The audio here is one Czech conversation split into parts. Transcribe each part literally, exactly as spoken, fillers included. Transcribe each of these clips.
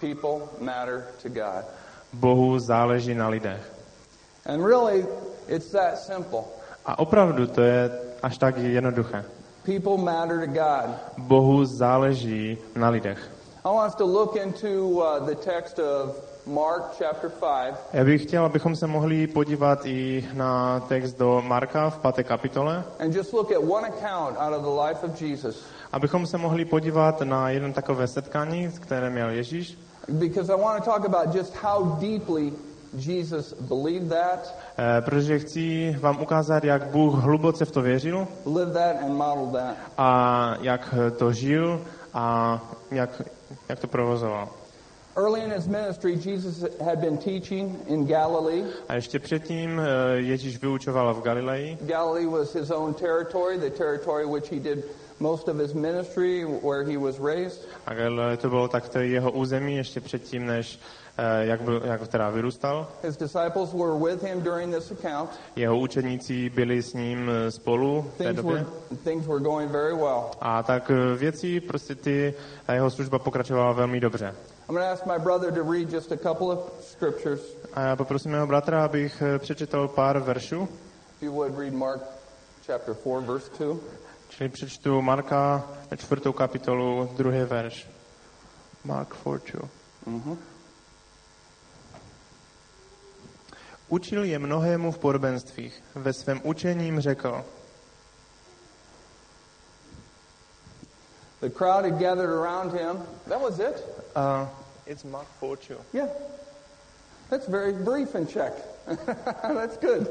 People matter to God. Bohu záleží na lidech. And really, it's that simple. A opravdu to je až tak jednoduché. People matter to God. Bohu záleží na lidech. I want us to look into uh, the text of Mark chapter five. Já bych chtěl, abychom se mohli podívat i na text do Marka v páté kapitole. And just look at one account out of the life of Jesus. Abychom se mohli podívat na jedno takové setkání, které měl Ježíš. Because I want to talk about just how deeply Jesus believed that. Eh, protože chci vám ukázat, jak Bůh hluboce v to věřil. Lived that and modeled that. A jak to žil a jak, jak to provozoval. Early in his ministry, Jesus had been teaching in Galilee. A ještě předtím Ježíš vyučoval v Galileji. Galilee was his own territory, the territory which he did most of his ministry, where he was raised. A Galileje to bylo takto jeho území ještě předtím, než jak, byl, jak teda vyrůstal. His disciples were with him during this account. Jeho učeníci byli s ním spolu v té Things době. were, things were going very well. A tak věci, prostě ty, a jeho služba pokračovala velmi dobře. I'm going to ask my brother to read just a couple of scriptures. A já poprosím mého bratra, abych přečetl pár veršů. If you would read Mark chapter four, verse two. Čili přečtu Marka čtvrtou kapitolu, druhý verš. Mark four two. Mm-hmm. Učil je mnohému v podobenstvích. Ve svém učením řekl. The crowd had gathered around him. That was it? Uh, it's Mark four two. Yeah. That's very brief and check. That's good.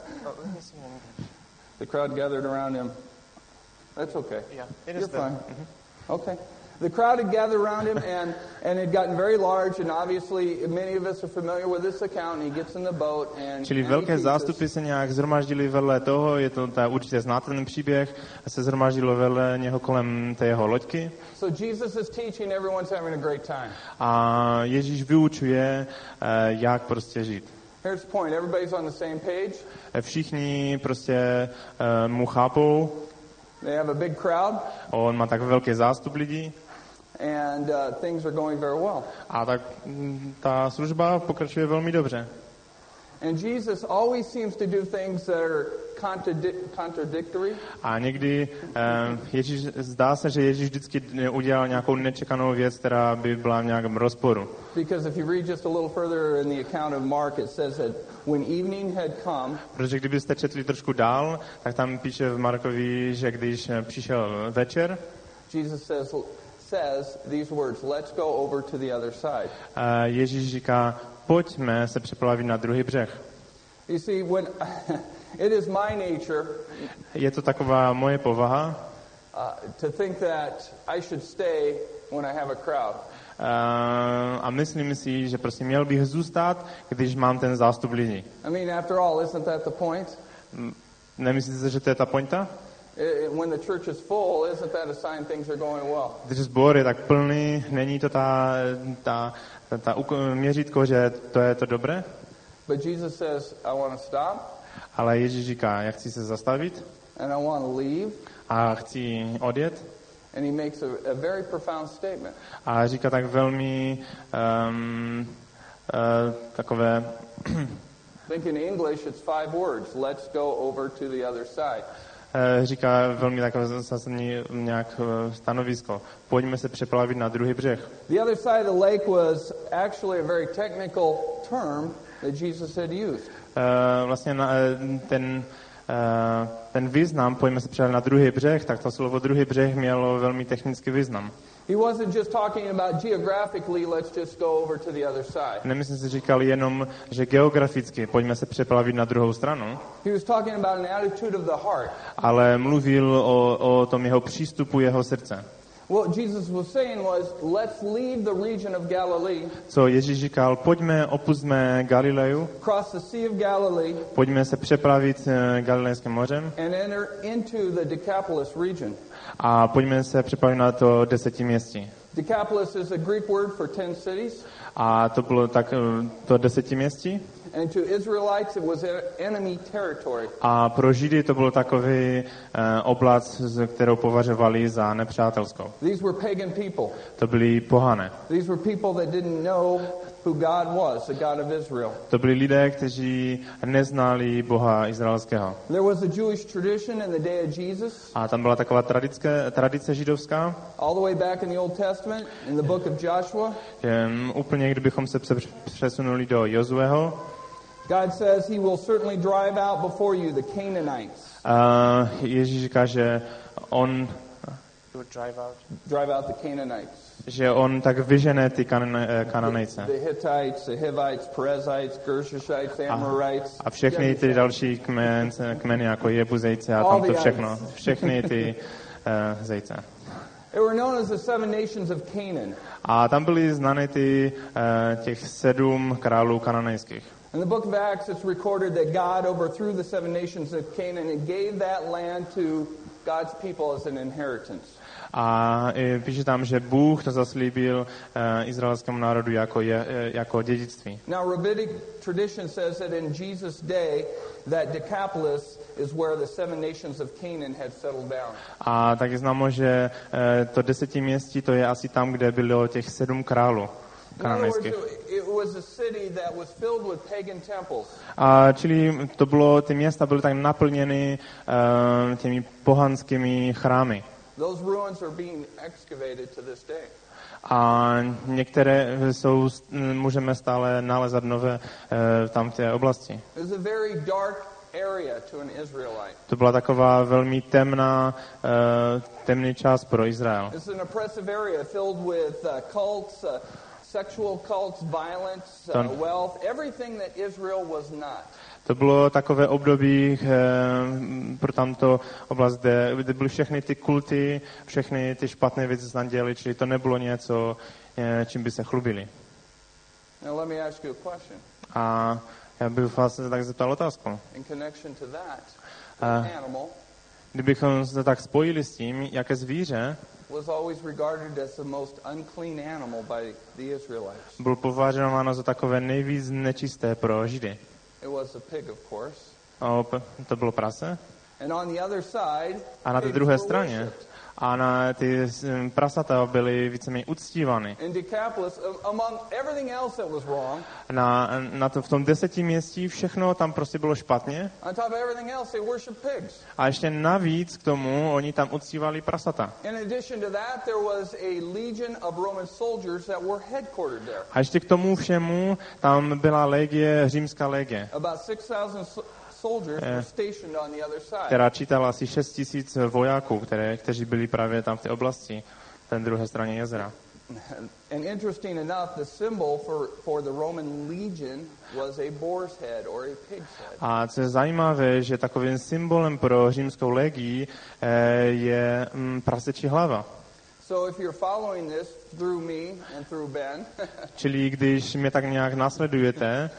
The crowd gathered around him. That's okay. Yeah, it You're is fine. Mm-hmm. Okay. The crowd had gathered around him, and, and it had gotten very large, and obviously many of us are familiar with this account, and he gets in the boat, and, Čili and velké zástupy se nějak zhromaždili vedle toho, je to ta, určitě znáte ten příběh, a se zhromaždilo vedle něho kolem té jeho loďky. So Jesus is teaching, everyone's having a great time. A Ježíš vyučuje, jak prostě žít. Here's the point, everybody's on the same page. Všichni prostě mu chápou. They have a big crowd. On má tak velký zástup lidí. And uh, things are going very well. A tak ta služba pokračuje velmi dobře. And Jesus always seems to do things that are contradic- contradictory. A někdy eh, Ježíš, zdá se, že Ježíš vždycky udělal nějakou nečekanou věc, která by byla v nějakém rozporu. Because if you read just a little further in the account of Mark, it says that when evening had come, Protože kdybyste četli trošku dál, tak tam píše v Markovi, že když přišel večer, Jesus says says these words, let's go over to the other side. eh, Ježíš říká, pojďme se přeplavit na druhý břeh. You see, when it is my nature Je to taková moje povaha, uh, to think that I should stay when I have a crowd. Uh, a myslím si, že prostě měl bych zůstat, když mám ten zástup lidí. I mean, after all, isn't that the point? Nemyslíte, že to je ta pointa? When the church is full, isn't that a sign things are going well? Když sbor je tak plný, není to ta, ta, ta, ta měřítko, že to je to dobré? But Jesus says, I want to stop. Ale Ježíš říká, já chci se zastavit And I want to leave. a chci odjet. And he makes a, a very profound statement. A říká tak velmi um, uh, takové... Think in English it's five words. Let's go over to the other side. Uh, říká velmi takové zásadní nějak uh, stanovisko. Pojďme se přeplavit na druhý břeh. The other side of the lake was actually a very technical term that Jesus had used. Uh, vlastně na, ten, uh, ten význam, pojďme se přeplavit na druhý břeh, tak to slovo druhý břeh mělo velmi technický význam. He wasn't just talking about geographically, let's just go over to the other side. Nemyslím si, říkal jenom, že geograficky pojďme se přeplavit na druhou stranu, He was talking about an attitude of the heart. ale mluvil o, o tom jeho přístupu, jeho srdce. What Jesus was saying was, let's leave the region of Galilee, Co Ježíš říkal, pojďme, opustme Galileju, cross the Sea of Galilee, pojďme se přeplavit Galilejským mořem and enter into the Decapolis region. a pojďme se přeplavit na to desetiměstí. Decapolis is a Greek word for ten cities. A to bylo tak to desetiměstí. And to Israelites it was enemy territory. A pro Židy to byl takový uh, oblast, kterou považovali za nepřátelskou. These were pagan people. To byli pohané. These were people that didn't know who God was, the God of Israel. To byli lidé, kteří neznali Boha izraelského. There was a Jewish tradition in the day of Jesus. A tam byla taková tradice, tradice židovská. All the way back in the Old Testament, in the book of Joshua. Že, um, úplně, kdybychom se přesunuli do Jozueho. God says he will certainly drive out before you the Canaanites. Uh, Ježíš říká, že on drive out drive out the Canaanites. Že on tak vyžene ty Kananejce. The Hittites, the Hivites, Perizzites, Gershishites, Amorites. A všechny ty další kmen, kmeny jako Jebuzejce a tam to všechno. Všechny ty uh, zejce. They were known as the seven nations of Canaan. A tam byly znány ty uh, těch sedm králů kananejských. In the book of Acts it's recorded that God overthrew the seven nations of Canaan and gave that land to God's people as an inheritance. A píše tam, že Bůh to zaslíbil uh, izraelskému národu jako, je, jako dědictví. Now rabbinic tradition says that in Jesus' day that Decapolis is where the seven nations of Canaan had settled down. A tak je známo, že uh, to desetiměstí to je asi tam, kde bylo těch sedm králů. A čili to bylo, ty města byly tak naplněny uh, těmi pohanskými chrámy. A některé jsou, můžeme stále nalezat nové uh, tam v té oblasti. To byla taková velmi temná, uh, temný čas pro Izrael. Sexual cults, violence, uh, wealth, everything that Israel was not. To bylo takové období eh, pro tamto oblast, kde, kde byly všechny ty kulty, všechny ty špatné věci, co tam dělali, čili to nebylo něco, eh, čím by se chlubili. Now let me ask you a question. A já bych vás se tak zeptal otázku. In connection to that, uh, an animal kdybychom se tak spojili s tím, jaké zvíře was always regarded as the most unclean animal by the Israelites. Byl považováno za takové nejvíc nečisté pro Židy. It was a pig, of course. O, to bylo prase. And on the other side, a na té druhé straně a na ty prasata byly víceméně uctívány. In Decapolis, among everything else that was wrong, na, na to, v tom desetiměstí všechno tam prostě bylo špatně. On top of everything else, they worshiped pigs. A ještě navíc k tomu oni tam uctívali prasata. In addition to that, there was a legion of Roman soldiers that were headquartered there. A ještě k tomu všemu tam byla legie, římská legie. About six thousand soldiers were stationed on the other side. Která čítala asi šest tisíc vojáků, které, kteří byli právě tam v té oblasti, na druhé straně jezera. And interesting enough, the symbol for for the Roman legion was a boar's head or a pig's head. A co je zajímavé, že takovým symbolem pro římskou legii je mm, prasečí hlava. So if you're following this through me and through Ben. Čili když mě tak nějak následujete,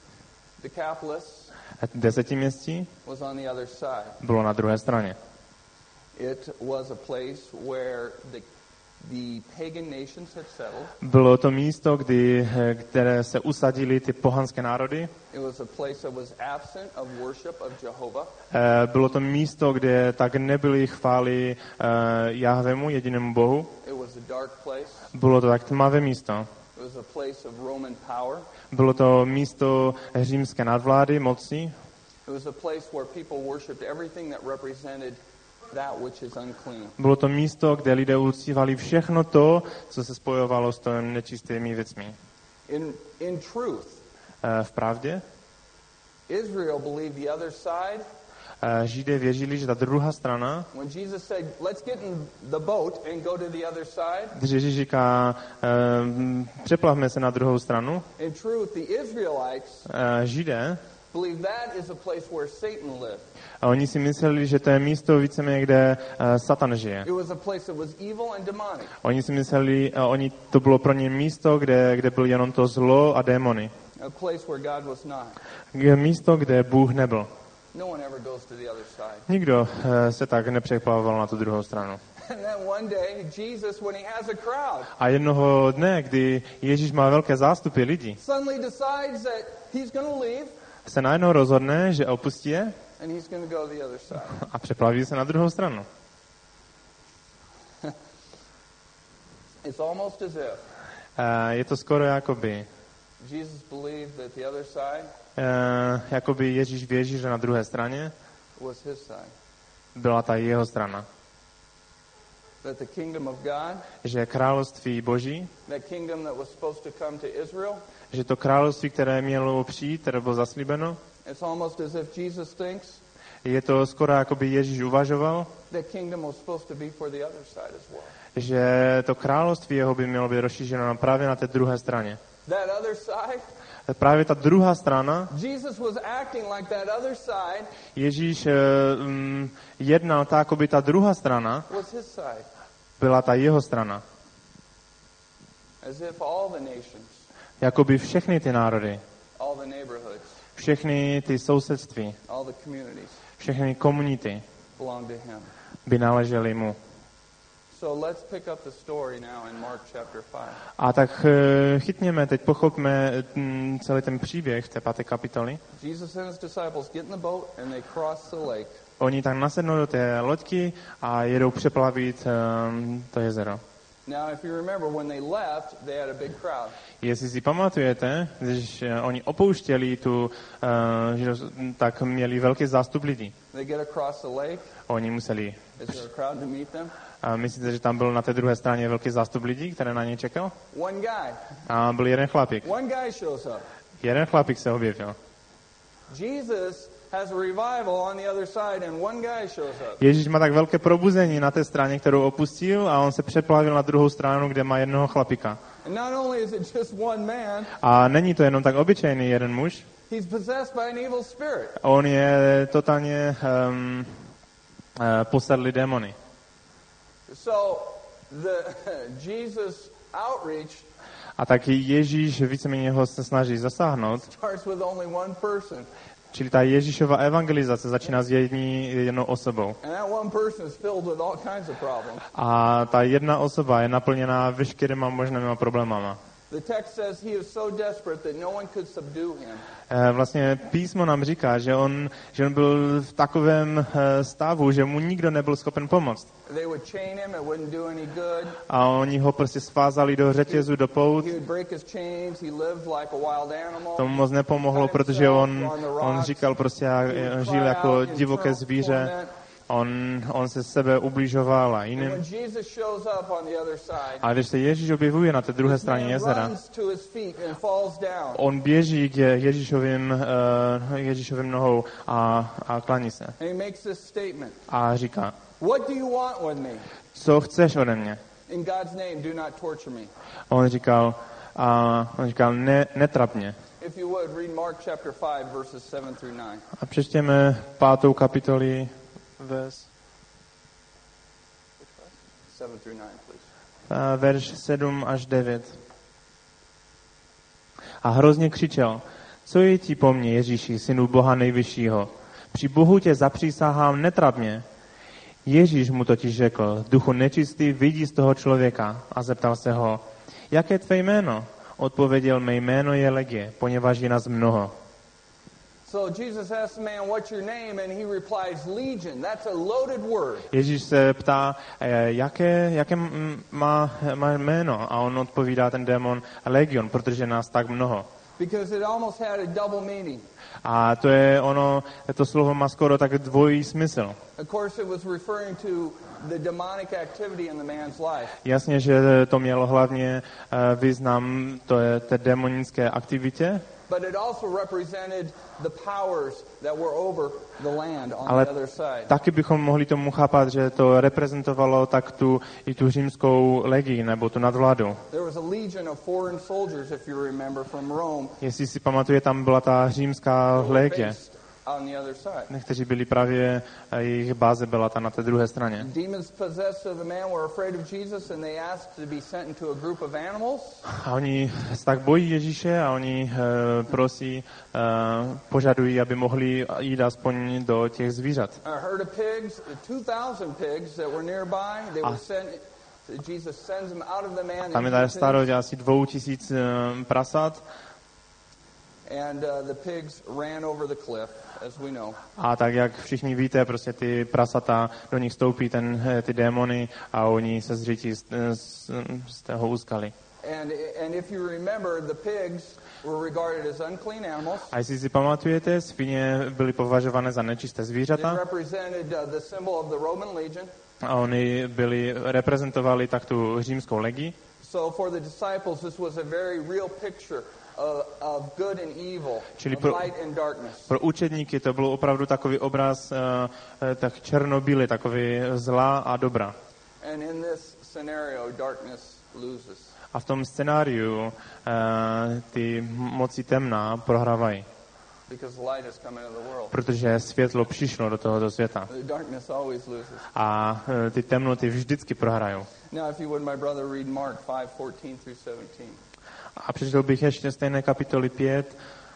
Decapolis desetiměstí was on the other side. Bylo na druhé straně. It was a place where the the pagan nations had settled. Bylo to místo, kdy, které se usadili ty pohanské národy. It was a place that was absent of worship of Jehovah. Bylo to místo, kde tak nebyly chvály Jahvemu, jedinému Bohu. It was a dark place. Bylo to tak tmavé místo. It was a place of Roman power. Bylo to místo římské nadvlády, moci. It was a place where people worshipped everything that represented that which is unclean. Bylo to místo, kde lidé uctívali všechno to, co se spojovalo s těmi nečistými věcmi. In in truth, v pravdě, Israel believed the other side. Židé věřili, že ta druhá strana, when Jesus said, let's get in the boat and go to the other side, když Ježíš říká, uh, přeplavme se na druhou stranu, in truth, the Israelites uh, Židé believed that is a place where Satan lived. A oni si mysleli, že to je místo víceméně, kde uh, Satan žije. It was a place that was evil and demonic. Oni si mysleli, uh, oni, to bylo pro ně místo, kde, kde bylo jenom to zlo a démony. A place where God was not. Místo, kde Bůh nebyl. No one ever goes to the other side. Nikdo uh, se tak nepřeplavoval na tu druhou stranu. And then one day, Jesus, when he has a crowd, A jednoho dne, kdy Ježíš má velké zástupy lidí, suddenly decides that he's going to leave se najednou rozhodne, že opustí je and he's going to go the other side. a přeplaví se na druhou stranu. It's almost as if E, je to skoro jakoby, Jesus believed that the other side e, jakoby Ježíš věří, že na druhé straně was his side. byla ta jeho strana. That the kingdom of God, Že království Boží, that kingdom that was supposed to come to Israel, že to království, které mělo přijít, které bylo zaslíbeno, it's almost as if Jesus thinks je to skoro jakoby Ježíš uvažoval, that kingdom was supposed to be for the other side as well. že to království jeho by mělo být rozšířeno na právě na té druhé straně. That other side, Právě ta druhá strana, Jesus was acting like that other side Ježíš um, jednal tak, jako by ta druhá strana was his side. byla ta jeho strana. As if all the nations, Jakoby všechny ty národy, all the neighborhoods, všechny ty sousedství, all the communities všechny komunity belong to him. by náležely mu. So let's pick up the story now in Mark chapter five. A tak eh, chytněme, teď pochopme mm, celý ten příběh té páté kapitoly. Jesus and his disciples get in the boat and they cross the lake. Oni tak nasednou do té loďky a jedou přeplavit um, to jezero. Now, if you remember, when they left, they had a big crowd. Jestli si pamatujete, když eh, oni opouštěli tu, uh, že, tak měli velký zástup lidí. They get across the lake. Oni museli. Is there a crowd to meet them? A myslíte, že tam byl na té druhé straně velký zástup lidí, který na ně čekal? One guy. A byl jeden chlapík. One guy shows up. Jeden chlapík se objevil. Jesus has a revival on the other side and one guy shows up. Ježíš má tak velké probuzení na té straně, kterou opustil, a on se přeplavil na druhou stranu, kde má jednoho chlapíka. And not only is it just one man, A není to jenom tak obyčejný jeden muž, he's possessed by an evil spirit. on je totálně um, uh, posedlý démony. So the Jesus outreach A taky Ježíš víceméně ho se snaží zasáhnout, starts with only one person. čili ta Ježíšova evangelizace začíná s jední, jednou osobou. And that one person is filled with all kinds of problems. A ta jedna osoba je naplněná veškerýma možnýma problémama. The text says he is so desperate that no one could subdue him. Vlastně písmo nám říká, že on, že on byl v takovém stavu, že mu nikdo nebyl schopen pomoct. They would chain him, it wouldn't do any good. A oni ho prostě svázali do řetězu, do pout. He would break his chains, he lived like a wild animal. Tomu moc nepomohlo, protože on, on říkal prostě, on žil jako divoké zvíře. On, on se sebe ubližoval a jiným. A když se Ježíš objevuje na té druhé straně jezera, on běží k Ježíšovým, uh, Ježíšovým nohou a, a klaní se. A říká, co chceš ode mě? On říkal, a on říkal, ne, netrap mě. A přečtěme pátou kapitoli, Vers. Verš sedm až devět. A hrozně křičel, co je ti po mně, Ježíši, synu Boha nejvyššího? Při Bohu tě zapřísahám, netrap mě. Ježíš mu totiž řekl, duchu nečistý, vidí z toho člověka, a zeptal se ho, jaké je tvé jméno? Odpověděl, mé jméno je Legie, poněvadž je nás mnoho. So Jesus asks the man, what's your name? And he replies, Legion. That's a loaded word. Ježíš se ptá, jaké, jaké má, má jméno? A on odpovídá, ten démon, Legion, protože nás tak mnoho. Because it almost had a double meaning. A to je ono, to slovo má skoro tak dvojí smysl. Of course it was referring to the demonic activity in the man's life. Jasně, že to mělo hlavně význam to je té demonické aktivitě. But it also represented the powers that were over the land on Ale the other side. taky bychom mohli tomu chápat, že to reprezentovalo tak tu, i tu římskou legii, nebo tu nadvládu. There was a legion of foreign soldiers, if you remember, from Rome. Jestli si pamatuje, tam byla ta římská legie. on the other side. kteří byli právě, jejich báze byla ta na té druhé straně. Demons possessed of the man were afraid of Jesus and they asked to be sent into a group of animals. A oni se tak bojí Ježíše a oni uh, prosí, uh, požadují, aby mohli jít aspoň do těch zvířat. A herd of pigs, two thousand pigs that were nearby, they were sent, Jesus sends them out of the man. Tam je tady starost asi dvou tisíc uh, prasat. And uh, the pigs ran over the cliff, as we know. A tak jak všichni víte, prostě ty prasata, do nich stoupí ten, ty démony a oni se zřítí z, z, z toho úskaly. And, and if you remember, the pigs were regarded as unclean animals. A jestli si pamatujete, svině byly považované za nečisté zvířata. They represented uh, the symbol of the Roman legion. A oni byli, reprezentovali tak tu římskou legii. So for the disciples, this was a very real picture of, of good and evil, Čili of pro, light and darkness. pro učedníky to byl opravdu takový obraz uh, tak černobílý, takový zla a dobra. And in this scenario, darkness loses. A v tom scénáriu uh, ty moci temná prohrávají. Protože světlo přišlo do tohoto světa. A uh, ty temnoty vždycky prohrajou. A přečetl bych ještě stejné kapitoly pět,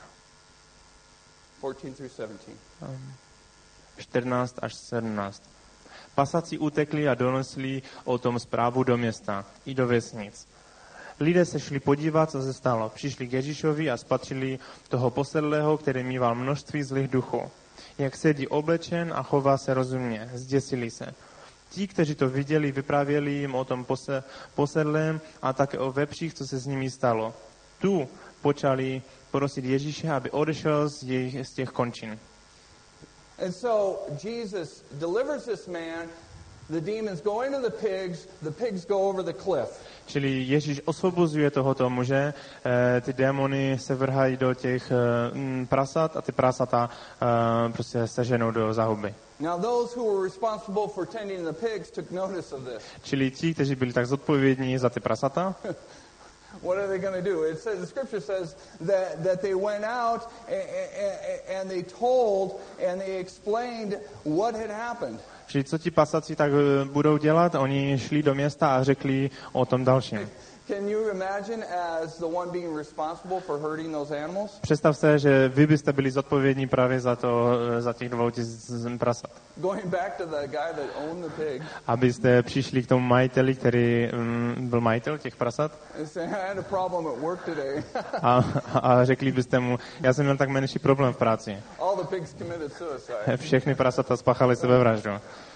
čtrnáct až sedmnáct. Pasaci utekli a donesli o tom zprávu do města i do vesnic. Lidé se šli podívat, co se stalo. Přišli k Ježíšovi a spatřili toho posedlého, který mýval množství zlých duchů. Jak sedí oblečen a chová se rozumně. Zděsili se. Ti, kteří to viděli, vyprávěli jim o tom posedlém a také o vepřích, co se s nimi stalo. Tu počali prosit Ježíše, aby odešel z, jejich, z těch končin. And so Jesus delivers this man. The demons go into the pigs, the pigs go over the cliff. Čili Ježíš osvobozuje tohoto muže, e, ty démony se vrhají do těch e, prasat a ty prasata e, prostě seženou do záhuby. Now those who were responsible for tending the pigs took notice of this. Čili ti, kteří byli tak zodpovědní za ty prasata, what are they going to do? It says, the scripture says that, that they went out and, and, and they told and they explained what had happened. Čili co ti pasaci tak budou dělat? Oni šli do města a řekli o tom dalším. Can you imagine as the one being responsible for hurting those animals? Představ se, že vy byste byli zodpovědní právě za to, za těch dvou tisíc prasat. Going back to the guy that owned the pig. Abyste přišli k tomu majiteli, který um, byl majitel těch prasat. Say, I had a problem at work today. a, a řekli byste mu, já jsem měl tak menší problém v práci. All the pigs committed suicide. Všechny prasata spáchali sebevraždu.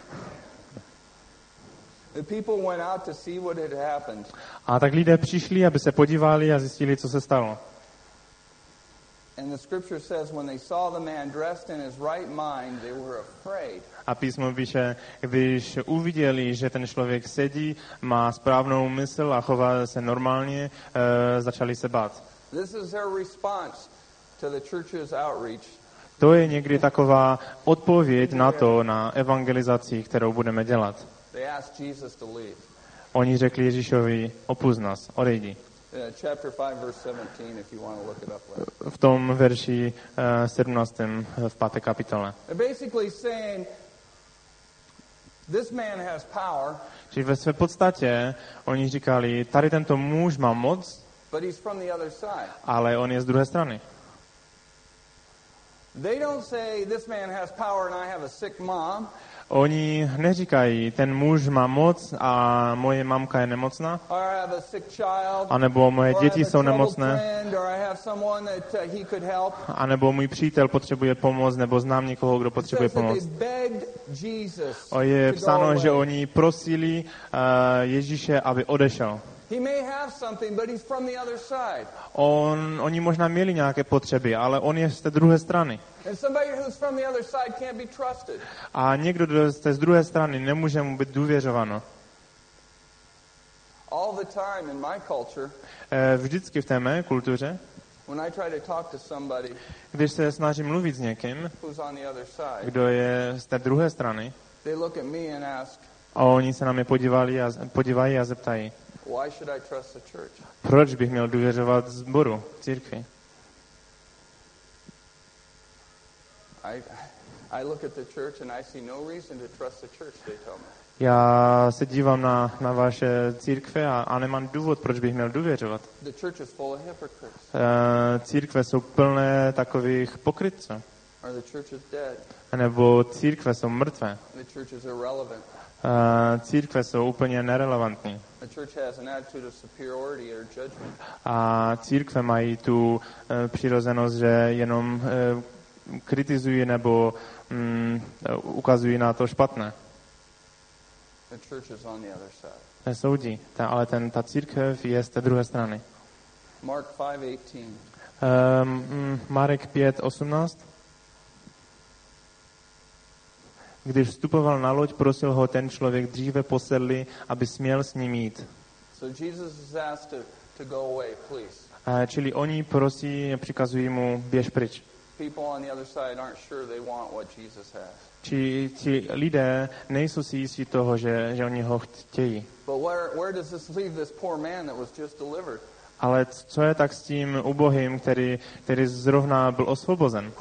The people went out to see what had happened. A tak lidé přišli, aby se podívali a zjistili, co se stalo. And the scripture says when they saw the man dressed in his right mind, they were afraid. A písmo píše, když uviděli, že ten člověk sedí, má správnou mysl a chová se normálně, e, začali se bát. This is their response to the church's outreach. To je někdy taková odpověď na to, na evangelizaci, kterou budeme dělat. They asked Jesus to leave. Oni řekli Ježíšovi, opusť nás, odejdi. Chapter five, verse seventeen, if you want to look it up later. V tom verši uh, sedmnáctém v páté kapitole. They're basically saying, this man has power. Čiže ve své podstatě oni říkali, tady tento muž má moc, but he's from the other side. Ale on je z druhé strany. They don't say, this man has power and I have a sick mom. Oni neříkají, ten muž má moc a moje mamka je nemocná, anebo moje děti jsou nemocné, anebo můj přítel potřebuje pomoc, nebo znám někoho, kdo potřebuje pomoc. O je psáno, že oni prosili uh, Ježíše, aby odešel. On, oni možná měli nějaké potřeby, ale on je z té druhé strany. A někdo, kdo z té druhé strany, nemůže mu být důvěřováno. Vždycky v té mé kultuře, když se snažím mluvit s někým, kdo je z té druhé strany, a oni se na mě podívali a, podívají a zeptají, proč bych měl důvěřovat sboru, církvi? I, I look at the church and I see no reason to trust the church, they tell me. Já se dívám na, na vaše církve a, a nemám důvod, proč bych měl důvěřovat. The church is full of hypocrites. Uh, církve jsou plné takových pokrytců. Or the church is dead. Nebo církve jsou mrtvé. The church is irrelevant. Uh, církve jsou úplně nerelevantní. The church has an attitude of superiority or judgment. A církve mají tu uh, přirozenost, že jenom uh, kritizují nebo um, ukazují na to špatné. The church is on the other side. Nesoudí, ta, ale ten, ta církev je z té druhé strany. Mark five eighteen. Um, Marek pět osmnáct. Když vstupoval na loď, prosil ho ten člověk dříve posedlý, aby směl s ním jít. So Jesus is asked to, to go away, please. Uh, čili oni prosí, přikazují mu, běž pryč. People on the other side aren't sure they want what Jesus has. Či ti lidé nejsou si jistí toho, že, že oni ho chtějí. But where, where does this leave this poor man that was just delivered? Ale co je tak s tím ubogým, který, který zrovna byl osvobozen?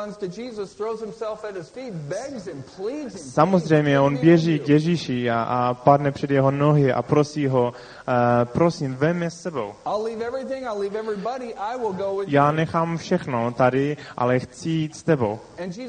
Samozřejmě on běží k Ježíši a, a padne před jeho nohy a prosí ho, uh, prosím, vem mě s sebou. Já nechám všechno tady, ale chci jít s tebou.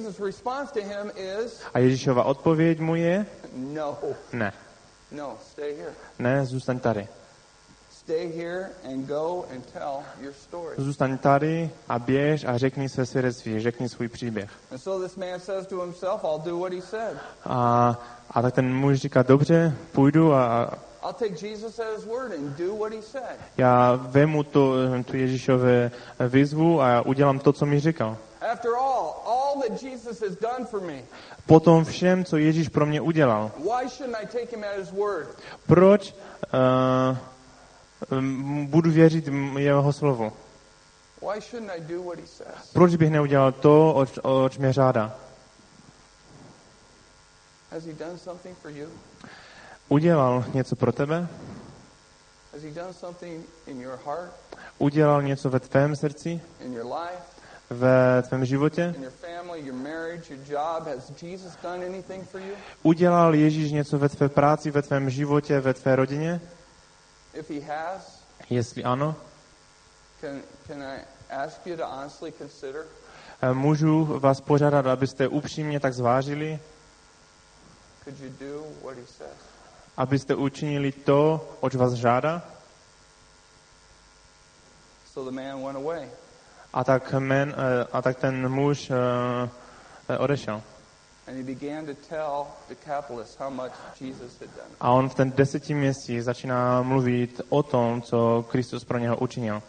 A Ježíšova odpověď mu je, ne. Ne, zůstaň tady. Stay here and go and tell your story. Zůstaň tady a běž a řekni své svědectví, řekni svůj příběh. And so this man says to himself, I'll do what he said. A, a tak ten muž říká, dobře, půjdu a I'll take Jesus at his word and do what he said. Já vemu to, tu Ježíšové výzvu a udělám to, co mi říkal. After all, all that Jesus has done for me. Potom všem, co Ježíš pro mě udělal. Why shouldn't I take him at his word? Proč uh, budu věřit jeho slovu? Why shouldn't I do what he says? Proč bych neudělal to, oč, oč mě žádá? Has he done something for you? Udělal něco pro tebe? Has he done something in your heart? Udělal něco ve tvém srdci? In your life? Ve tvém životě? In your family, your marriage, your job? Has Jesus done anything for you? Udělal Ježíš něco ve tvé práci, ve tvém životě, ve tvé rodině? If he has, jestli ano, can, can I ask you to honestly consider? Můžu vás požádat, abyste upřímně tak zvážili, Could you do what he says? Abyste učinili to, oč vás žádá? So the man went away. A tak, men, a tak ten muž uh, odešel. And he began to tell the capitalist how much Jesus had done. A on v ten deseti měsíc začíná mluvit o tom, co Kristus pro něho učinil.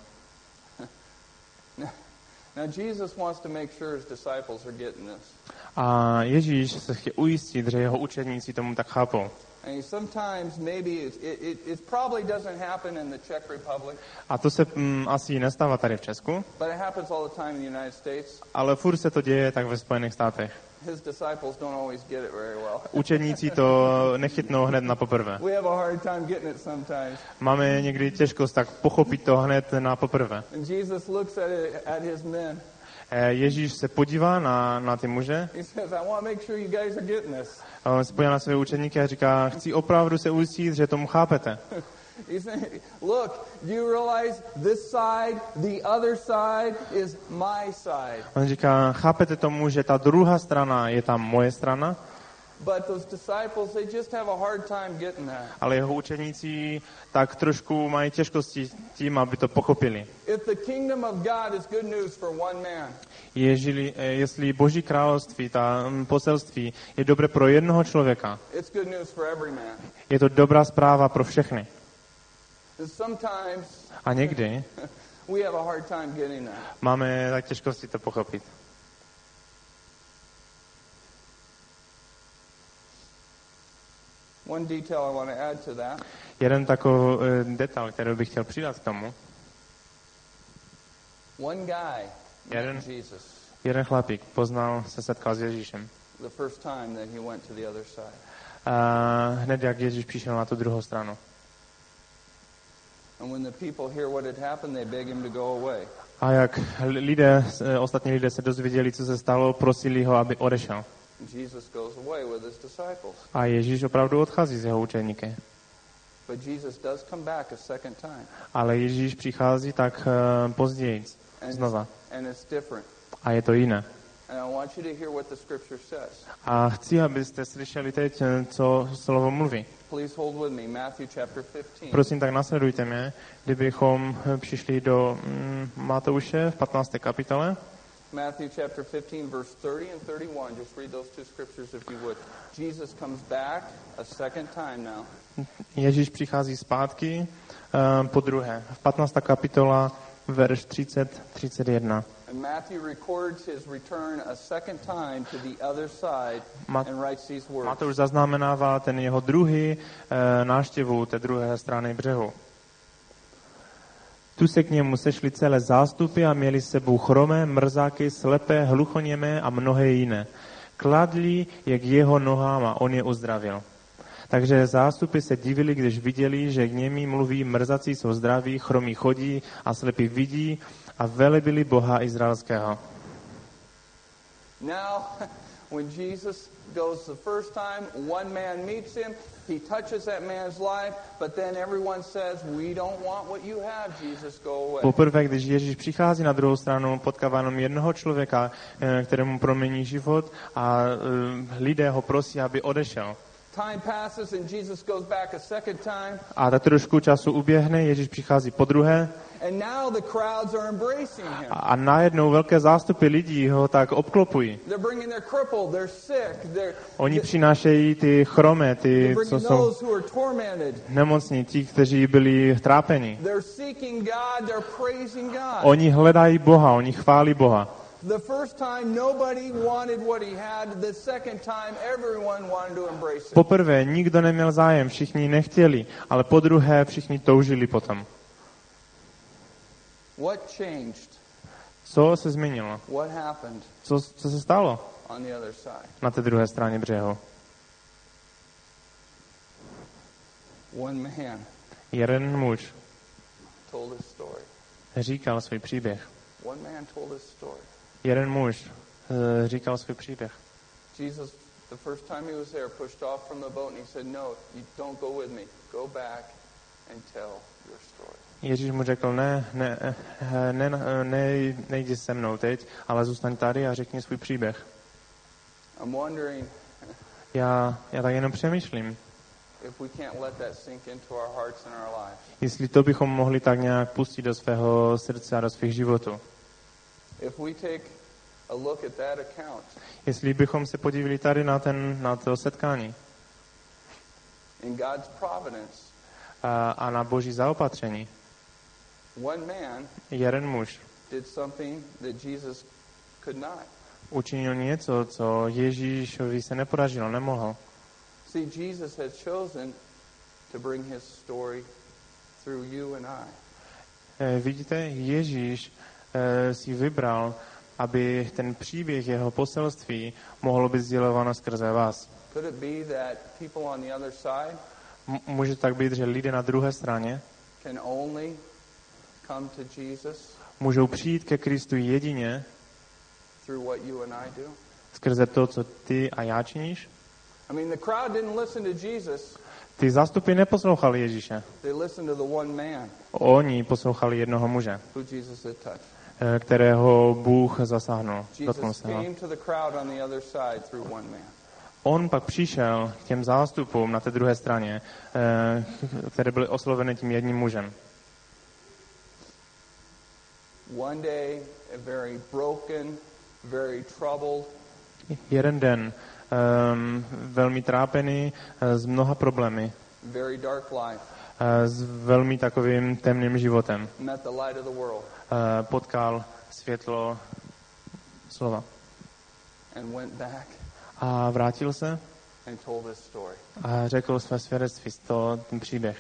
Now Jesus wants to make sure his disciples are getting this. A Ježíš se chce ujistit, že jeho učedníci tomu tak chápou. And sometimes maybe it, it, it probably doesn't happen in the Czech Republic. A to se mm, asi nestává tady v Česku. But it happens all the time in the United States. Ale furt se to děje tak ve Spojených státech. His disciples don't always get it very well. Učedníci to nechytnou hned na poprvé. We have a hard time getting it sometimes. Máme někdy těžkost tak pochopit to hned na poprvé. And Jesus looks at it, at his men. Ježíš se podívá na, na ty muže. He says, I want to make sure you guys are getting this. A on se podívá na své učedníky a říká, chci opravdu se ujistit, že tomu chápete. He's saying, look, you realize this side, the other side is my side. On říká, chápete tomu, že ta druhá strana je ta moje strana? But those disciples, they just have a hard time getting that. Ale jeho učeníci tak trošku mají těžkosti tím, aby to pochopili. If the kingdom of God is good news for one man, Ježili, jestli Boží království, ta poselství je dobré pro jednoho člověka, it's good news for every man. je to dobrá zpráva pro všechny. Sometimes A někdy we have a hard time getting that. máme tak těžkosti to pochopit. One detail I want to add to that. Jeden takový uh, detail, který bych chtěl přidat k tomu. One guy jeden, met Jesus. Jeden chlapík poznal, se setkal s Ježíšem. The first time that he went to the other side. Uh, hned jak Ježíš přišel na tu druhou stranu. And when the people hear what had happened, they beg him to go away. A jak lidé, ostatní lidé se dozvěděli, co se stalo, prosili ho, aby odešel. Jesus goes away with his disciples. A Ježíš opravdu odchází z jeho učeníky. But Jesus does come back a second time. Ale Ježíš přichází tak uh, později, znova. And it's different. A je to jiné. And I want you to hear what the scripture says. A chci, abyste slyšeli teď, co slovo mluví. Please hold with me Matthew chapter fifteen. Prosím, tak nasledujte mě, kdybychom přišli do mm, Matouše v patnácté kapitole. Matthew chapter fifteen verse thirty and thirty-one. Just read those two scriptures if you would. Jesus comes back a second time now. Ježíš přichází zpátky uh, po druhé. V patnácté kapitola verš třicet třicet jedna. And Matthew records his return a second time to the other side Mat- and writes these words. Matouš zaznamenává ten jeho druhý uh, návštěvu té druhé strany břehu. Tu se k němu sešly celé zástupy a měli s sebou chromé, mrzáky, slepé, hluchoněmé a mnohé jiné. Kladli je k jeho nohám a on je uzdravil. Takže zástupy se divili, když viděli, že k němi mluví, mrzací jsou zdraví, chromí chodí a slepí vidí a velebili Boha Izraelského. Now, when Jesus goes the first time, one man meets him, he touches that man's life, but then everyone says, we don't want what you have, Jesus, go away. Poprvé, když Ježíš přichází na druhou stranu, potkává jenom jednoho člověka, kterému promění život a lidé ho prosí, aby odešel. Time passes and Jesus goes back a second time. A tak trošku času uběhne, Ježíš přichází po druhé. And now the crowds are embracing him. A najednou velké zástupy lidí ho tak obklopují. They're bringing their crippled, they're sick, they're Oni přinášejí ty chromé, ty, co bringing jsou those who are tormented. nemocní, ti, kteří byli trápeni. They're seeking God, they're praising God. Oni hledají Boha, oni chválí Boha. The first time nobody wanted what he had, the second time everyone wanted to embrace it. Poprvé nikdo neměl zájem, všichni nechtěli, ale po druhé všichni toužili potom. What changed? Co se změnilo? What happened Co, co se stalo on the other side? na té druhé straně břehu? One man Jeden muž told his story. říkal svůj příběh. One man told his story. Jeden muž uh, říkal svůj příběh. Jesus, the first time he was there, pushed off from the boat and he said, no, you don't go with me. Go back and tell your story. Ježíš mu řekl, ne, ne, ne, ne, ne nejdi se mnou teď, ale zůstaň tady a řekni svůj příběh. I'm wondering Já, já tak jenom přemýšlím, if we can't let that sink into our hearts and our lives. jestli to bychom mohli tak nějak pustit do svého srdce a do svých životů. If we take a look at that account, Jestli bychom se podívali tady na, ten, na to setkání in God's providence, a, a na Boží zaopatření, one man jeden muž did something that Jesus could not. učinil něco, co Ježíšovi se nepodařilo, nemohl. See, Jesus had chosen to bring his story through you and I. E, vidíte, Ježíš e, si vybral, aby ten příběh jeho poselství mohlo být sdělováno skrze vás. Could it be that people on the other side M- může tak být, že lidé na druhé straně can only come to Jesus můžou přijít ke Kristu jedině through what you and I do? skrze to, co ty a já činíš? I mean, the crowd didn't listen to Jesus. Ty zástupy neposlouchali Ježíše. They listened to the one man Oni poslouchali jednoho muže, who Jesus had touched. e, kterého Bůh zasáhnul. Dotknul Jesus se ho. came to the crowd on the other side through one man. On pak přišel k těm zástupům na té druhé straně, e, které byly osloveny tím jedním mužem. One day, a very broken, very troubled, Jeden den um, velmi trápený, e, s mnoha problémy, very dark life, e, s velmi takovým temným životem. met the light of the world, E, potkal světlo slova. and went back A vrátil se and told his story. a řekl své svědectví, to, ten příběh.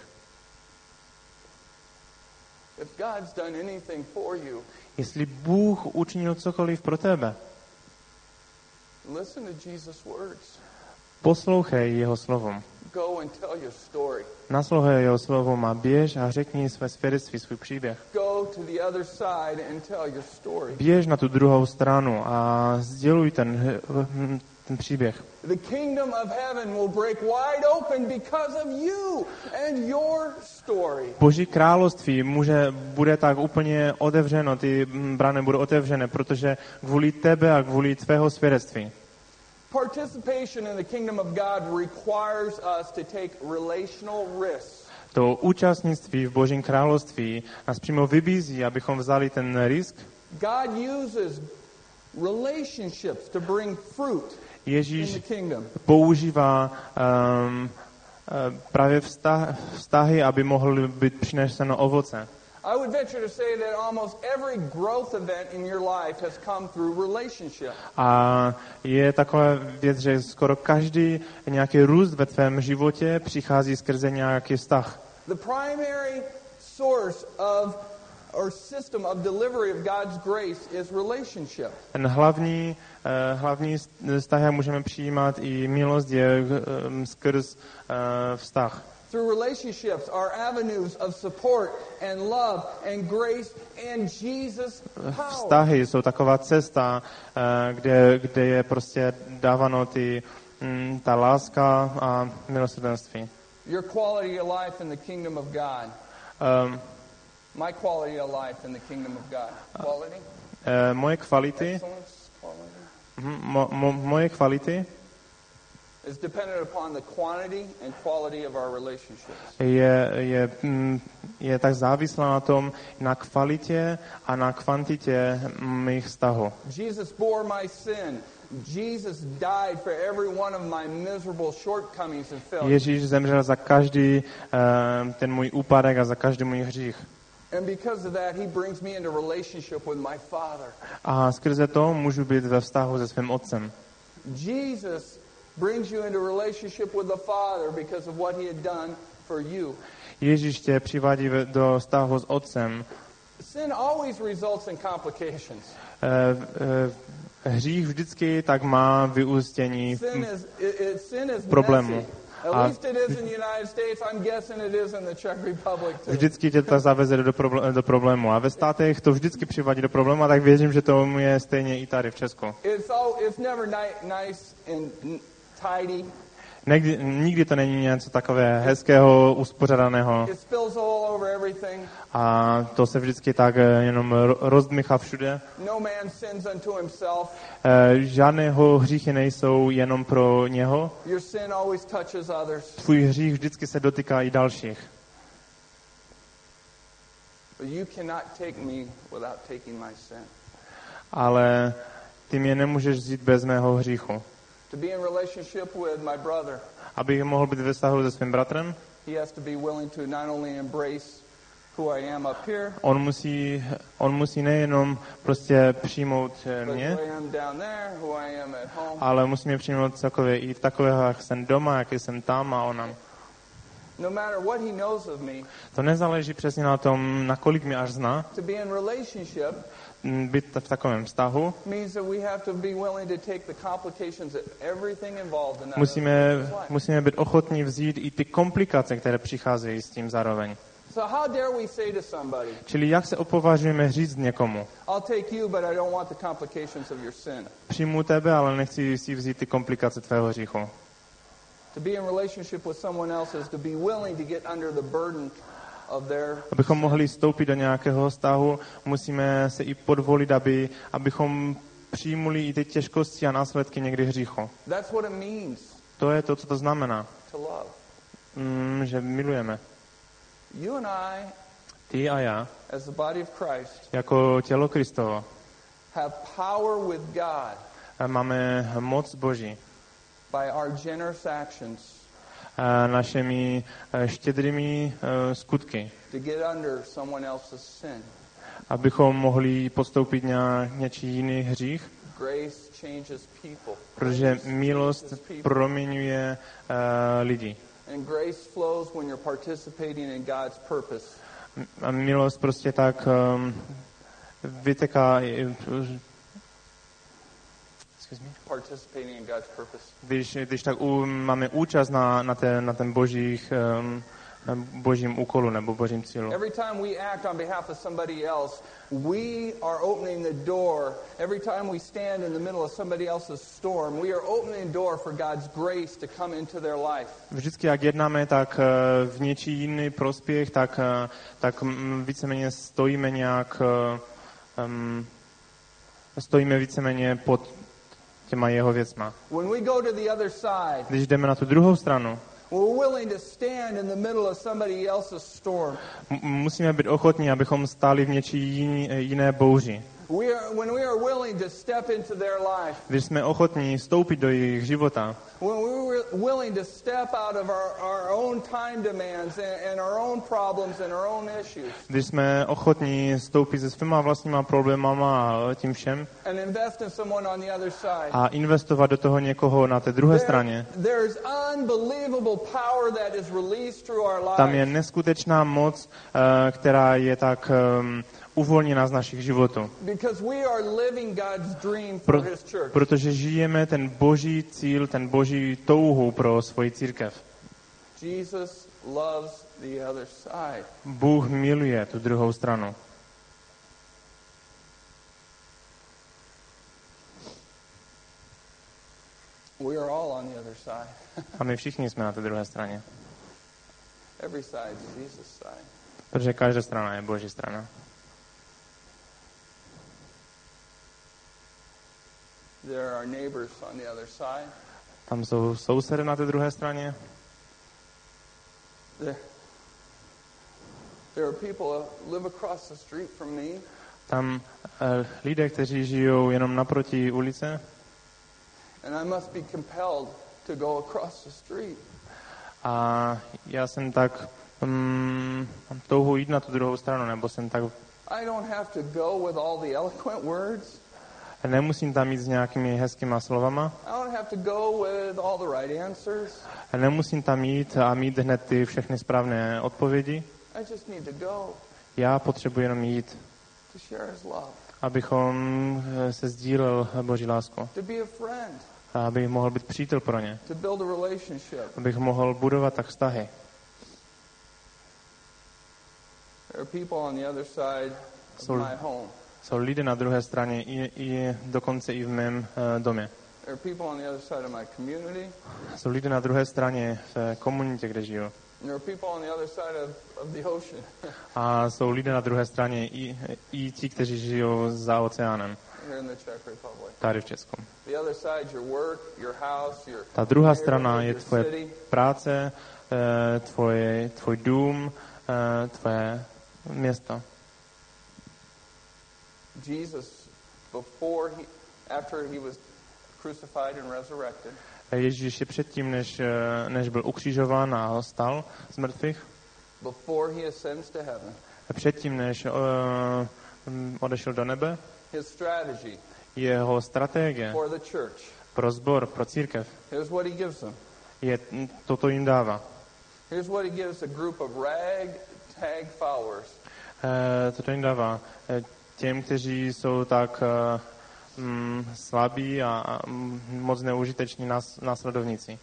If God's done anything for you, Jestli Bůh učinil cokoliv pro tebe, listen to Jesus' words. Poslouchej jeho slovům. Go and tell your story. Naslouchej jeho slovům a běž a řekni své svědectví, svůj příběh. Go to the other side and tell your story. Běž na tu druhou stranu a sděluj ten, ten příběh. The kingdom of heaven will break wide open because of you and your story. Boží království může, bude tak úplně otevřeno, ty brány budou otevřené, protože kvůli tebe a kvůli tvého svědectví. Participation in the kingdom of God requires us to take relational risks. To účastnictví v Božím království nás přímo vybízí, abychom vzali ten risk. God uses relationships to bring fruit Ježíš in the kingdom. používá um, uh, právě vztah, vztahy, aby mohly být přineseno ovoce. I would venture to say that almost every growth event in your life has come through relationship. A je taková věc, že skoro každý nějaký růst ve tvém životě přichází skrze nějaký vztah. The primary source of or system of delivery of God's grace is relationship. Ten hlavní, uh, hlavní vztah, jak můžeme přijímat i milost, je um, skrz uh, vztah. Through relationships are avenues of support and love and grace and Jesus' power. Vztahy jsou taková cesta, uh, kde, kde je prostě dáváno ty, um, ta láska a milosrdenství. Your quality of life in the kingdom of God. Um, My quality of life in the kingdom of God. Quality? uh, moje kvality, Excellence? Quality? mm, mo, mo, moje kvality Is dependent upon the quantity and quality of our relationships. je, je, mm, je tak závislá na tom, na kvalitě a na kvantitě mých vztahů. Jesus bore my sin. Jesus died for every one of my miserable shortcomings and failures. Ježíš zemřel za každý uh, ten můj úpadek a za každý můj hřích. And because of that, he brings me into relationship with my Father. A skrze to můžu být ve vztahu se svým otcem. Jesus brings you into relationship with the Father because of what he had done for you. Ježíš tě přivádí do vztahu s otcem. Sin always results in complications. Uh, uh, hřích vždycky tak má vyústění Sin is, it, it, sin is problému. messy. At A least it is in the United States. I'm guessing it is in the Czech Republic too. vždycky tě to zaveze do, problé- do problému. A ve státech to vždycky přivádí do problému, a tak věřím, že to je stejně i tady v Česku. It's all, it's never ni- nice and n- tidy. Nikdy, nikdy to není něco takové hezkého, uspořádaného. It spills all over everything. A to se vždycky tak jenom rozdmychá všude. No man sins unto himself. Žádného hříchy nejsou jenom pro něho. Your sin always touches others. Tvůj hřích vždycky se dotýká i dalších. But you cannot take me without taking my sin. Ale ty mě nemůžeš vzít bez mého hříchu. To be in relationship with my brother, Abych mohl být ve vztahu se svým bratrem, he has to be willing to not only embrace who I am up here, on musí, on musí nejenom prostě přijmout but mě, who I am down there, who I am at home. ale musí mě přijmout celkově i takového, jak jsem doma, jak jsem tam a ona. No matter what he knows of me, To nezáleží přesně na tom, nakolik mě až zná. to be in relationship Být v takovém vztahu, means that we have to be willing to take the complications of everything involved in that. musíme, other person's life. musíme být ochotní vzít i ty komplikace, které přicházejí s tím zároveň. So how dare we say to somebody, Čili jak se opovažujeme říct někomu? I'll take you, but I don't want the complications of your sin. Přijmu tebe, ale nechci si vzít ty komplikace tvého hříchu. To be in relationship with someone else is to be willing to get under the burden of their. Abychom mohli vstoupit do nějakého vztahu, musíme se i podvolit, aby, abychom přijmuli i ty těžkosti a následky někdy hříchu. That's what it means To je to, co to znamená, to love. mm, že milujeme. You and I, Ty a já, as the body of Christ, jako tělo Kristovo, have power with God máme moc Boží by our generous actions a našimi eh, štědrými eh, skutky, to get under someone else's sin. abychom mohli postoupit na něčí jiný hřích, Grace changes people. protože Grace milost changes people. proměňuje uh, lidi. And grace flows when you're participating in God's purpose. A milost prostě tak um, vyteká. participating in God's purpose. Když, když tak u, máme účast na, na, ten, na ten božích, um, na božím úkolu nebo božím cílu. Every time we act on behalf of somebody else, we are opening the door. Every time we stand in the middle of somebody else's storm, we are opening the door for God's grace to come into their life. Vždycky, jak jednáme, tak v něčí jiný prospěch, tak, tak víceméně stojíme nějak, um, stojíme víceméně pod těma jeho věcma. When we go to the other side, když jdeme na tu druhou stranu, we're willing to stand in the middle of somebody else's storm. M- musíme být ochotní, abychom stáli v něčí jiný, jiné bouři. We are, when we are willing to step into their life. Když jsme ochotní vstoupit do jejich života. When we were willing to step out of our, our own time demands and, and our own problems and our own issues. Když jsme ochotní vstoupit se svýma vlastníma problémama a tím všem. And invest in someone on the other side. A investovat do toho někoho na té druhé There, straně. There's unbelievable power that is released through our lives. Tam je neskutečná moc, která je tak um, uvolněná z našich životů. Because we are living God's dream for Pro, his church. protože žijeme ten boží cíl, ten boží touhu pro svoji církev. Jesus loves the other side. Bůh miluje tu druhou stranu. We are all on the other side. A my všichni jsme na té druhé straně. Every side is Jesus' side. Protože každá strana je boží strana. There are neighbors on the other side. Tam jsou sousedy na té druhé straně. There, there are people who live across the street from me. Tam uh, lidé, kteří žijou jenom naproti ulice. And I must be compelled to go across the street. A já jsem tak um, mám touhu jít na tu druhou stranu, nebo jsem tak. I don't have to go with all the eloquent words. Nemusím tam jít s nějakými hezkýma slovama. I don't have to go with all the right answers. Nemusím tam jít a mít hned ty všechny správné odpovědi. I just need to go. Já potřebuji jenom jít, To share his love. abychom se sdílel Boží lásku. To be a friend. A abych mohl být přítel pro ně. To build a relationship. Abych mohl budovat tak vztahy. There are people on the other side of Jsou, my home. jsou lidé na druhé straně, i, i dokonce i v mém uh, domě. There are people on the other side of my community. Jsou lidé na druhé straně v komunitě, kde žiju. There are people on the other side of, of the ocean. A jsou lidé na druhé straně i, i ti, kteří žijou za oceánem. Here in the Czech Republic. Tady v Česku. The other side is your work, your house, your Ta druhá strana je your tvoje city. práce, eh, tvoje, tvoj dům, eh, tvoje město. Jesus, before he, after he was crucified and resurrected, Ježíš ještě předtím, než, eh, než byl ukřižován a stal z mrtvých, before he ascends to heaven, předtím, než uh, odešel do nebe, his strategy jeho strategie for the church, pro sbor, pro církev, here's what he gives them. je, toto jim dává. Here's what he gives a group of ragtag followers. Eh, toto jim dává eh, těm, kteří jsou tak uh, mm, slabí a, a mm, moc neužiteční nás, následovníci.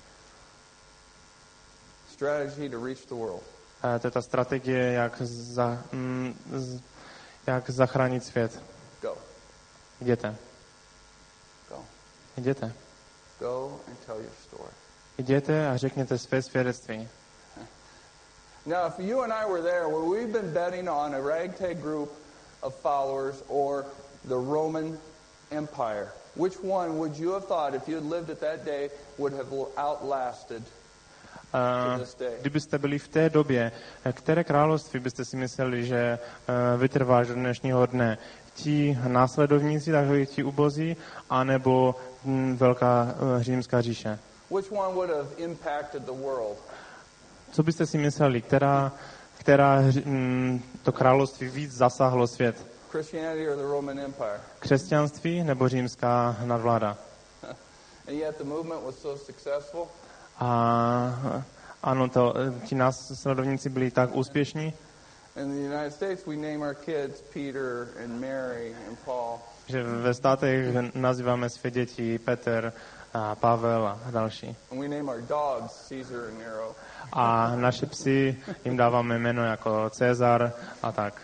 Strategy to reach the world. Eh, to je ta strategie, jak, za, mm, z, jak zachránit svět. Go. Jděte. Go. Jděte. Go and tell your story. Jděte a řekněte své svědectví. Now, if you and I were there, where we've been betting on a ragtag group of followers or the Roman Empire, which one would you have thought, if you had lived at that day, would have outlasted to this day? Kdybyste byli v té době, které království byste si mysleli, že uh, vytrvá do dnešního dne? Ti následovníci, takoví ti ubozí, anebo hm, velká uh, římská říše? Which one would have impacted the world? Co byste si mysleli, která, která hm, to království víc zasáhlo svět? Christianity or the Roman Empire? Křesťanství nebo římská nadvláda? And yet the movement was so successful. A ano, to, ti následovníci byli tak úspěšní. In the United States, we name our kids Peter and Mary and Paul. Že ve státech nazýváme své děti Petr a Pavel a další. And we name our dogs Caesar and Nero. A naše psy jim dáváme jméno jako Cezar a tak.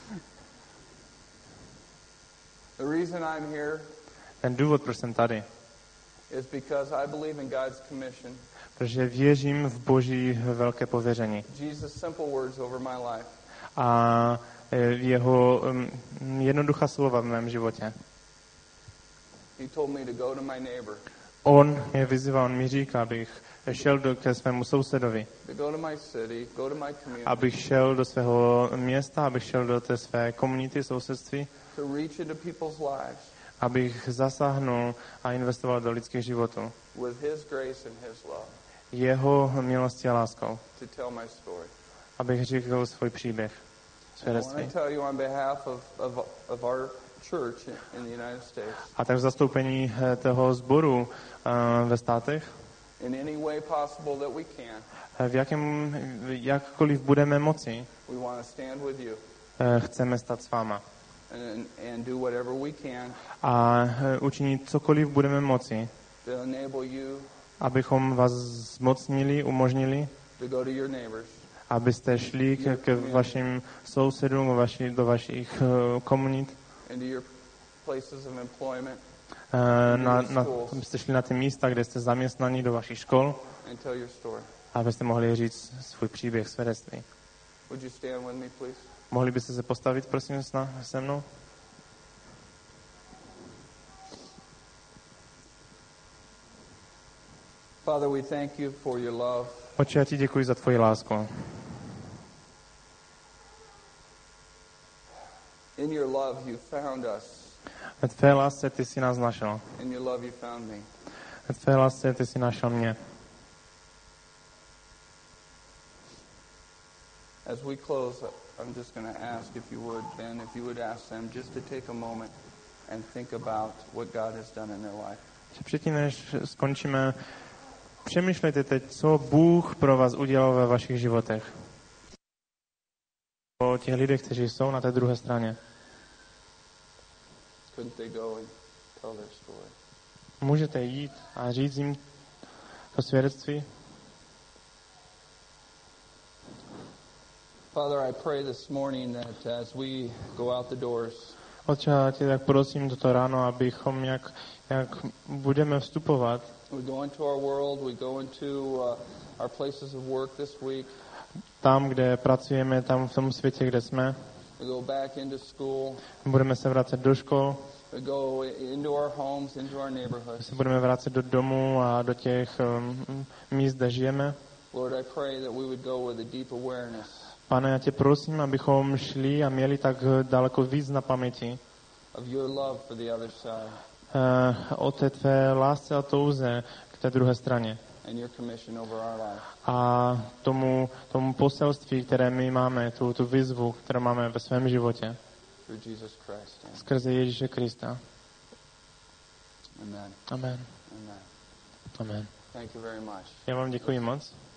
The reason I'm here Ten důvod, proč jsem tady, is because I believe in God's commission. protože věřím v Boží velké pověření. Jesus' simple words over my life. A jeho um, jednoduchá slova v mém životě. He told me to go to my neighbor. On mě vyzýval, on mi říká, abych šel do, ke svému sousedovi, To go to my city, go to my community. abych šel do svého města, abych šel do té své komunity, sousedství, To reach into people's lives abych zasáhnul a investoval do lidských životů. with his grace and his love. Jeho milostí a láskou. To tell my story. Abych řekl svůj příběh, And I want svědectví. to tell you on behalf of, of, of our church in the United States, A tak v zastoupení eh, toho sboru uh, ve státech, in any way possible that we can, eh, v jakém, jakkoliv budeme moci, we want to stand with you eh, chceme stát s váma. and, and do whatever we can A eh, učinit cokoliv budeme moci, to enable you abychom vás zmocnili, umožnili, to go to your neighbors, abyste šli k, k vašim sousedům, vaši, do vašich uh, komunit, into your places of employment, uh, na, na, abyste šli na ty místa, kde jste zaměstnaní, do vašich škol, and tell your story. abyste mohli říct svůj příběh, svědectví. Would you stand with me, please? Mohli byste se postavit, prosím, se mnou? Father, we thank you for your love. Otče, já ti děkuji za tvoji lásku. In your love, you found us. Ve tvé lásce ty jsi nás našel. In your love, you found me. Ve tvé lásce ty jsi našel mě. As we close, I'm just going to ask if you would, Ben, if you would ask them just to take a moment and think about what God has done in their life. Předtím, než skončíme, přemýšlejte teď, co Bůh pro vás udělal ve vašich životech. O těch lidech, kteří jsou na té druhé straně. Couldn't they go and tell their story? Můžete jít a říct jim to svědectví? Father, I pray this morning that as we go out the doors, Otče, já tě tak prosím toto ráno, abychom, jak, jak budeme vstupovat, we go into our world, we go into uh, our places of work this week, tam, kde pracujeme, tam v tom světě, kde jsme, we go back into school, budeme se vracet do škol, we go into our homes, into our neighborhoods. se budeme vracet do domů a do těch um, míst, kde žijeme. Lord, I pray that we would go with a deep awareness Pane, já tě prosím, abychom šli a měli tak daleko víc na paměti of your love for the other side uh, o té tvé lásce a touze k té druhé straně. and your commission over our life. A tomu, tomu poselství, které my máme, tu, tu výzvu, kterou máme ve svém životě, Through Jesus Christ. skrze Ježíše Krista. Amen. Amen. Amen. Amen. Thank you very much. Já vám děkuji moc.